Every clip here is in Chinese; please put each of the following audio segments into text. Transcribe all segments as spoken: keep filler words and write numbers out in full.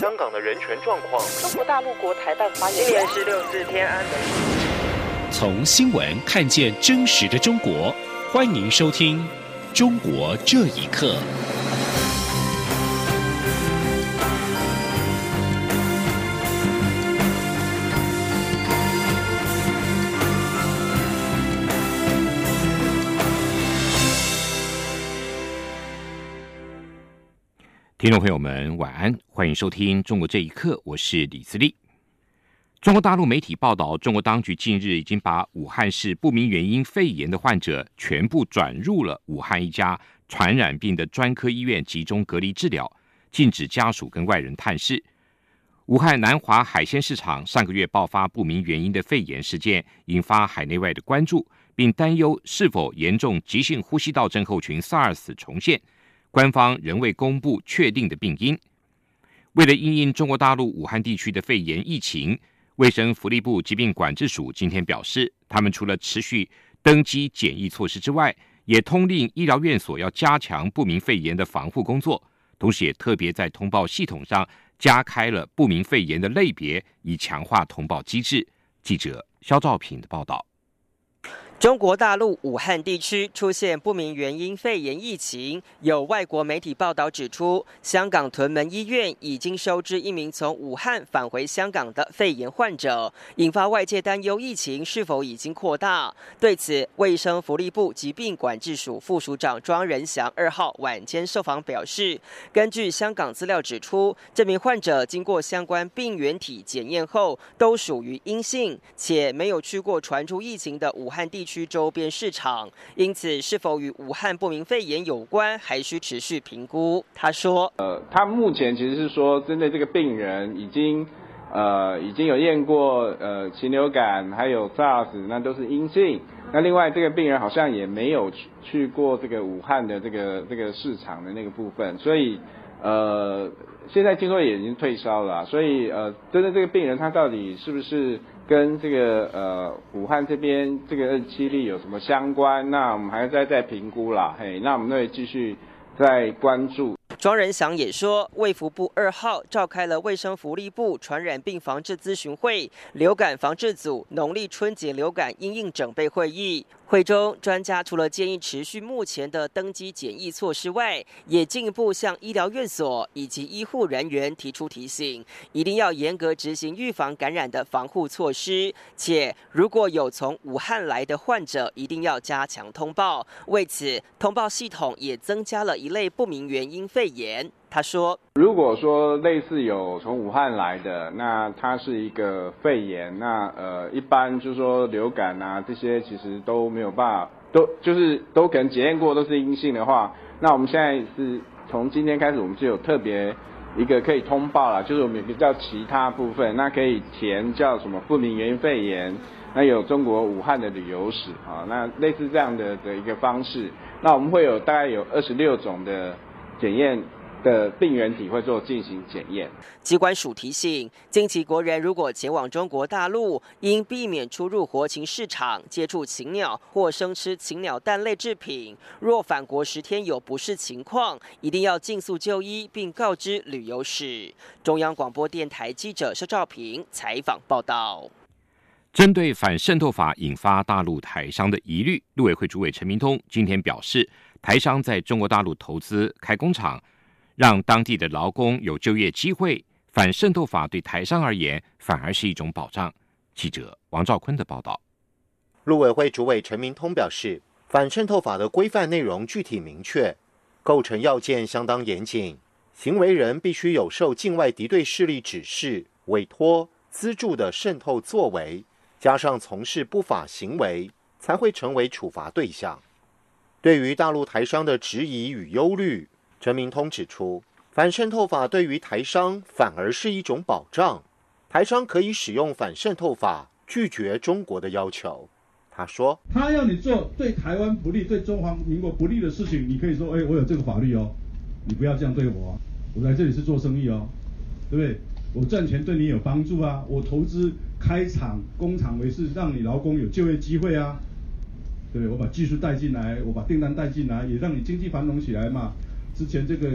香港的人权状况。 中国大陆国台办发言人， 今年是六四天安门。 从新闻看见真实的中国，欢迎收听《中国这一刻》。听众朋友们，晚安，欢迎收听《中国这一刻》，我是李自立。中国大陆媒体报道，中国当局近日已经把武汉市不明原因肺炎的患者全部转入了武汉一家传染病的专科医院集中隔离治疗，禁止家属跟外人探视。武汉南华海鲜市场上个月爆发不明原因的肺炎事件，引发海内外的关注，并担忧是否严重急性呼吸道症候群 SARS 重现。官方仍未公布确定的病因。为了因应中国大陆武汉地区的肺炎疫情，卫生福利部疾病管制署今天表示，他们除了持续登机检疫措施之外，也通令医疗院所要加强不明肺炎的防护工作，同时也特别在通报系统上加开了不明肺炎的类别，以强化通报机制。记者肖兆平的报道。 中国大陆武汉地区出现不明原因肺炎疫情，有外国媒体报道指出，香港屯门医院已经收治一名从武汉返回香港的肺炎患者，引发外界担忧疫情是否已经扩大。对此，卫生福利部疾病管制署副署长庄仁祥二号晚间受访表示，根据香港资料指出，这名患者经过相关病原体检验后都属于阴性，且没有去过传出疫情的武汉地区周边市场，因此是否与武汉不明肺炎有关，还需持续评估。他说：“ 呃，他目前其实是说，针对这个病人已经呃已经有验过呃禽流感，还有 SARS， 那都是阴性。那另外这个病人好像也没有去去过这个武汉的这个这个市场的那个部分，所以呃现在听说也已经退烧了啊，所以呃针对这个病人他到底是不是跟这个呃武汉这边这个二十七例有什么相关？那我们还要再再评估啦，嘿，那我们会继续再关注。” 庄仁祥也说，卫福部二号召开了卫生福利部传染病防治咨询会、流感防治组农历春节流感因应整备会议。会中，专家除了建议持续目前的登机检疫措施外，也进一步向医疗院所以及医护人员提出提醒，一定要严格执行预防感染的防护措施，且如果有从武汉来的患者，一定要加强通报。为此，通报系统也增加了一类不明原因肺炎。他说：“ 如果说类似有从武汉来的，那它是一个肺炎，那呃一般就是说流感啊这些其实都没有办法，都就是都可能检验过都是阴性的话，那我们现在是从今天开始，我们就有特别一个可以通报了，就是我们有个叫其他部分，那可以填叫什么不明原因肺炎，那有中国武汉的旅游史啊，那类似这样的的一个方式，那我们会有大概有二十六种的检验的病原体会做进行检验。” 机关署提醒，近期国人如果前往中国大陆，应避免出入活禽市场、接触禽鸟或生吃禽鸟蛋类制品。若返国十天有不适情况，一定要尽速就医，并告知旅游史。中央广播电台记者肖兆平采访报道。 针对反渗透法引发大陆台商的疑虑，陆委会主委陈明通今天表示，台商在中国大陆投资开工厂，让当地的劳工有就业机会，反渗透法对台商而言反而是一种保障。记者王兆坤的报道。 陆委会主委陈明通表示，反渗透法的规范内容具体明确，构成要件相当严谨，行为人必须有受境外敌对势力指示、委托、资助的渗透作为，加上从事不法行为，才会成为处罚对象。对于大陆台商的质疑与忧虑，陈明通指出，反渗透法对于台商反而是一种保障，台商可以使用反渗透法拒绝中国的要求。他说， 他要你做对台湾不利、对中华民国不利的事情，你可以说，哎，我有这个法律哦，你不要这样对我啊，我来这里是做生意哦，对不对？我赚钱对你有帮助啊，我投资开厂工厂为是让你劳工有就业机会啊，对不对？我把技术带进来，我把订单带进来，也让你经济繁荣起来嘛。之前这个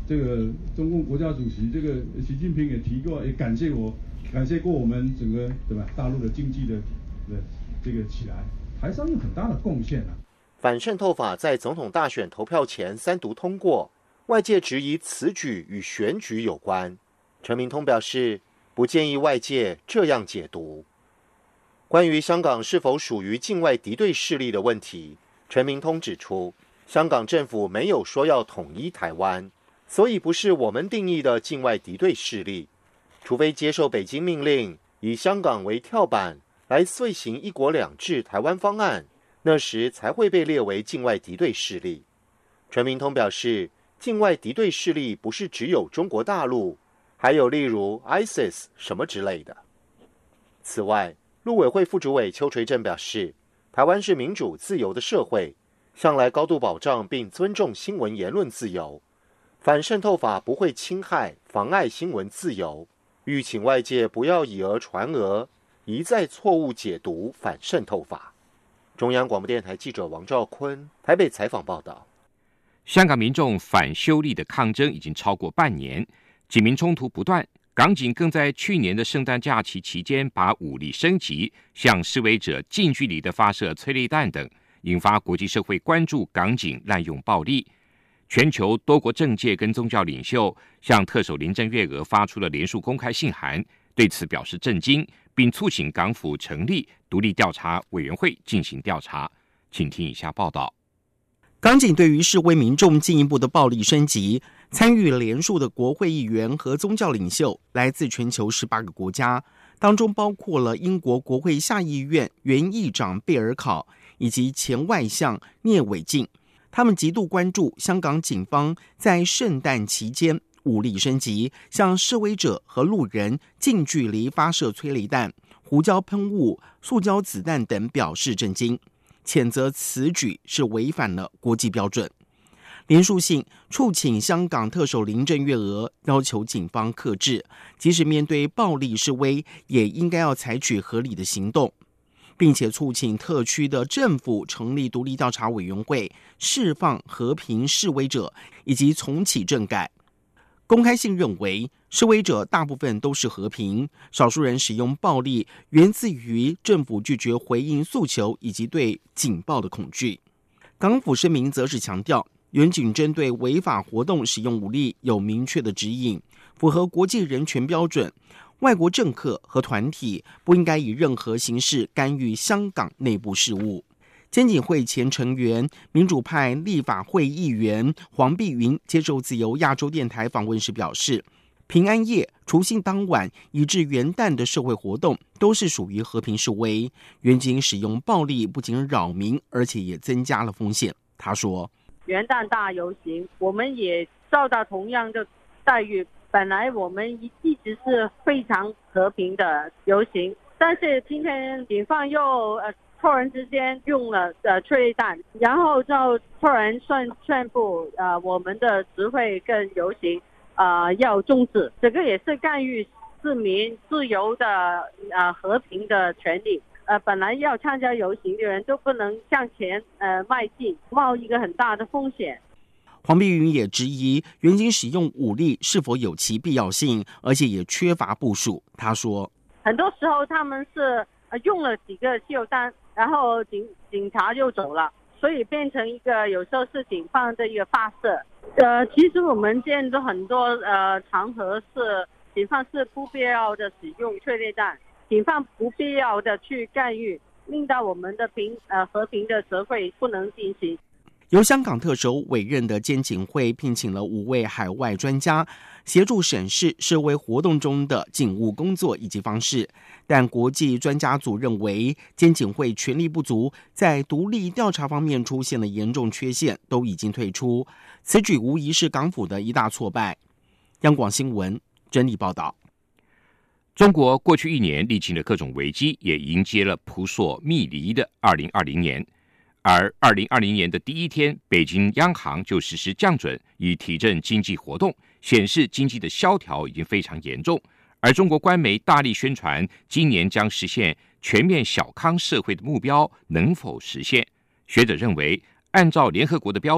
这个中共国家主席这个习近平也提过，也感谢我，感谢过我们整个对吧大陆的经济的的这个起来，台商有很大的贡献啊。 反渗透法在总统大选投票前三读通过，外界质疑此举与选举有关。陈明通表示，不建议外界这样解读。关于香港是否属于境外敌对势力的问题，陈明通指出，香港政府没有说要统一台湾，所以不是我们定义的境外敌对势力。除非接受北京命令，以香港为跳板来遂行一国两制台湾方案，那时才会被列为境外敌对势力。陈明通表示，境外敌对势力不是只有中国大陆，还有例如 I S I S 什么之类的。此外，陆委会副主委邱垂正表示，台湾是民主自由的社会，向来高度保障并尊重新闻言论自由，反渗透法不会侵害妨碍新闻自由，吁请外界不要以讹传讹，一再错误解读反渗透法。中央广播电台记者王兆坤台北采访报道。 香港民众反修例的抗争已经超过半年，警民冲突不断，港警更在去年的圣诞假期期间把武力升级，向示威者近距离的发射催泪弹等，引发国际社会关注港警滥用暴力。全球多国政界跟宗教领袖向特首林郑月娥发出了连署公开信函，对此表示震惊，并促请港府成立独立调查委员会进行调查。请听以下报道。 港警对于示威民众进一步的暴力升级，参与联署的国会议员和宗教领袖来自全球十八个国家，当中包括了英国国会下议院原议长贝尔考以及前外相聂伟静。他们极度关注香港警方在圣诞期间武力升级，向示威者和路人近距离发射催泪弹、胡椒喷雾、塑胶子弹等，表示震惊，谴责此举是违反了国际标准。联署信促请香港特首林郑月娥要求警方克制，即使面对暴力示威，也应该要采取合理的行动，并且促请特区的政府成立独立调查委员会，释放和平示威者以及重启政改。公开信认为，示威者大部分都是和平，少数人使用暴力源自于政府拒绝回应诉求以及对警暴的恐惧。港府声明则是强调，远警针对违法活动使用武力有明确的指引，符合国际人权标准。外国政客和团体不应该以任何形式干预香港内部事务。监警会前成员、民主派立法会议员黄碧云接受自由亚洲电台访问时表示，平安夜、除夕当晚以至元旦的社会活动都是属于和平示威，远警使用暴力不仅扰民，而且也增加了风险。他说， 元旦大游行我们也受到同样的待遇，本来我们一直是非常和平的游行，但是今天警方又呃突然之间用了呃催泪弹，然后就突然宣宣布呃我们的集会跟游行呃要终止，这个也是干预市民自由的呃和平的权利。呃本来要参加游行的人都不能向前呃迈进，冒一个很大的风险。 黄碧云也质疑远警使用武力是否有其必要性，而且也缺乏部署。他说， 很多时候他们是用了几个汽油弹，然后警警察就走了，所以变成一个有时候是警方的一个发射。呃，其实我们见到很多呃场合是警方是不必要的使用催泪弹，警方不必要的去干预，令到我们的平呃和平的集会不能进行。 由香港特首委任的监警会聘请了五位海外专家，协助审视示威活动中的警务工作以及方式。但国际专家组认为，监警会权力不足，在独立调查方面出现了严重缺陷，都已经退出。此举无疑是港府的一大挫败。央广新闻整理报道。 中国过去一年历经了各种危机，也迎接了扑朔迷离的二零二零年。而二零二零年的第一天，北京央行就实施降准，以提振经济活动，显示经济的萧条已经非常严重。而中国官媒大力宣传今年将实现全面小康社会的目标，能否实现？学者认为，按照联合国的标准，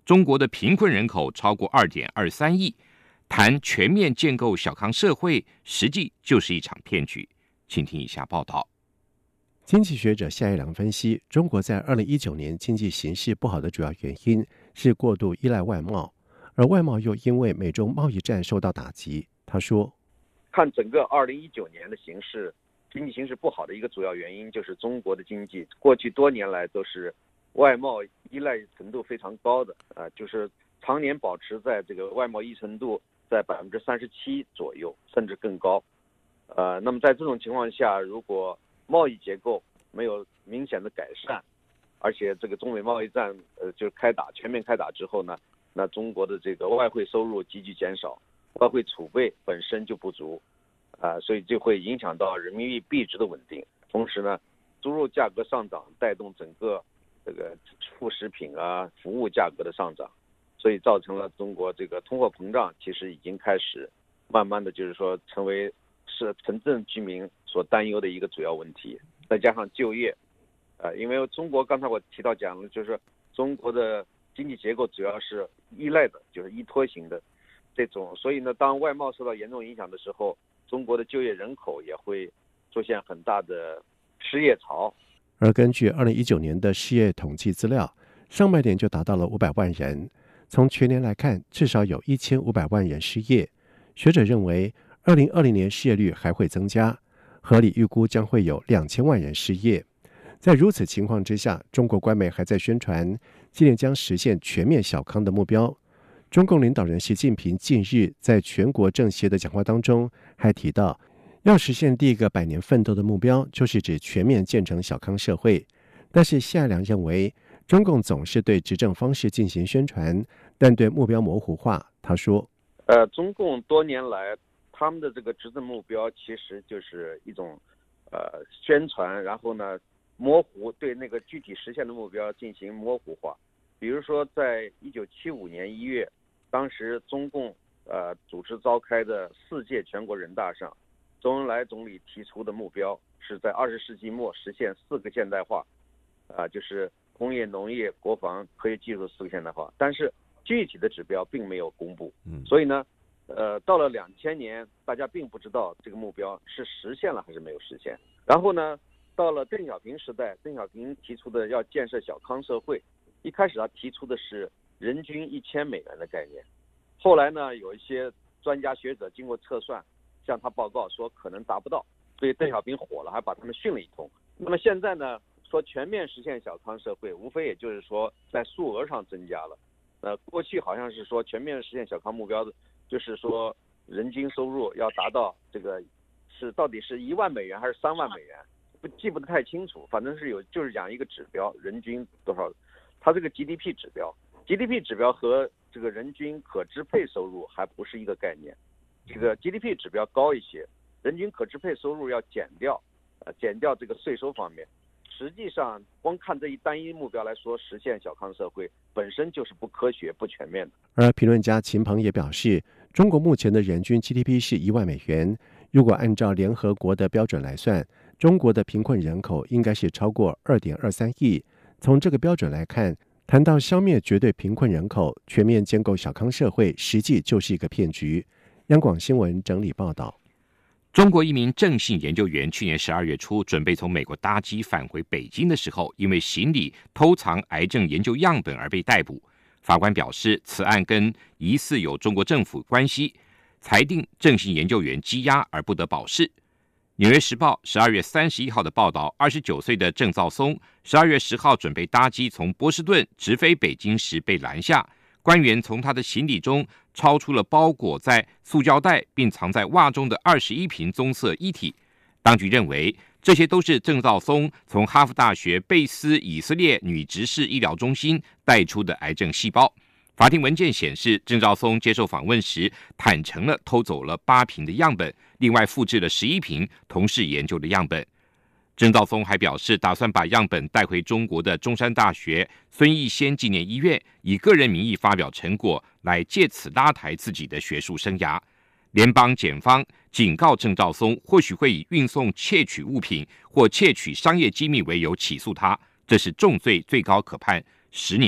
中国的贫困人口超过 二点二三亿，谈全面建构小康社会，实际就是一场骗局。请听以下报道。 经济学者夏一良分析，中国在二零一九年经济形势不好的主要原因是过度依赖外贸，而外贸又因为美中贸易战受到打击。他说， 看整个二零一九年的形势，经济形势不好的一个主要原因就是中国的经济过去多年来都是外贸依赖程度非常高的，呃，就是常年保持在这个外贸依存度在百分之三十七左右，甚至更高。呃，那么在这种情况下，如果贸易结构没有明显的改善，而且这个中美贸易战呃就是开打全面开打之后呢，那中国的这个外汇收入急剧减少，外汇储备本身就不足，啊、呃，所以就会影响到人民币币值的稳定。同时呢，猪肉价格上涨带动整个这个副食品啊、服务价格的上涨，所以造成了中国这个通货膨胀其实已经开始慢慢的就是说成为是城镇居民所担忧的一个主要问题。再加上就业，呃，因为中国刚才我提到讲了，就是中国的经济结构主要是依赖的，就是依托型的这种，所以呢，当外贸受到严重影响的时候，中国的就业人口也会出现很大的失业潮。 而根据二零一九年的失业统计资料，上半年就达到了五百万人，从全年来看，至少有一千五百万人失业。学者认为，二零二零年失业率还会增加，合理预估将会有两千万人失业。在如此情况之下，中国官媒还在宣传今年将实现全面小康的目标。中共领导人习近平近日在全国政协的讲话当中还提到，要实现第一个百年奋斗的目标，就是指全面建成小康社会。但是夏良认为，中共总是对执政方式进行宣传，但对目标模糊化。他说， 呃，中共多年来他们的这个执政目标其实就是一种呃宣传，然后呢模糊，对那个具体实现的目标进行模糊化。比如说在一九七五年一月，当时中共呃主持召开的四届全国人大上，周恩来总理提出的目标是在二十世纪末实现四个现代化，啊、呃，就是工业、农业、国防、科学技术四个现代化。但是具体的指标并没有公布，所以呢，呃，到了两千年，大家并不知道这个目标是实现了还是没有实现。然后呢，到了邓小平时代，邓小平提出的要建设小康社会，一开始他提出的是人均一千美元的概念，后来呢，有一些专家学者经过测算，向他报告说可能达不到，所以邓小平火了，还把他们训了一通。那么现在呢，说全面实现小康社会，无非也就是说在数额上增加了。呃，过去好像是说全面实现小康目标的，就是说人均收入要达到这个是到底是一万美元还是三万美元，不记不得太清楚，反正是有就是讲一个指标，人均多少，它这个 G D P 指标 ，G D P 指标和这个人均可支配收入还不是一个概念，这个 G D P 指标高一些，人均可支配收入要减掉，呃，减掉这个税收方面。实际上，光看这一单一目标来说，实现小康社会本身就是不科学、不全面的。 而评论家秦鹏也表示，中国目前的人均 G D P 是一万美元，如果按照联合国的标准来算，中国的贫困人口应该是超过 二点二三亿。从这个标准来看，谈到消灭绝对贫困人口、全面建构小康社会，实际就是一个骗局。央广新闻整理报道。 中国一名郑姓研究员去年十二月初准备从美国搭机返回北京的时候，因为行李偷藏癌症研究样本而被逮捕。法官表示，此案跟疑似有中国政府关系，裁定郑姓研究员羁押而不得保释。纽约时报十二月三十一号的报道，二十九岁的郑肇松十二月十号准备搭机从波士顿直飞北京时被拦下，官员从他的行李中超出了包裹在塑胶袋并藏在袜中的二十一瓶棕色液体。当局认为，这些都是郑肇松从哈佛大学贝斯以色列女执事医疗中心带出的癌症细胞。法庭文件显示，郑肇松接受访问时坦诚了偷走了八瓶的样本，另外复制了十一瓶同事研究的样本。郑肇松还表示，打算把样本带回中国的中山大学孙逸仙纪念医院，以个人名义发表成果，来借此拉抬自己的学术生涯。联邦检方警告郑肇松，或许会以运送窃取物品或窃取商业机密为由起诉他，这是重罪，最高可判十年。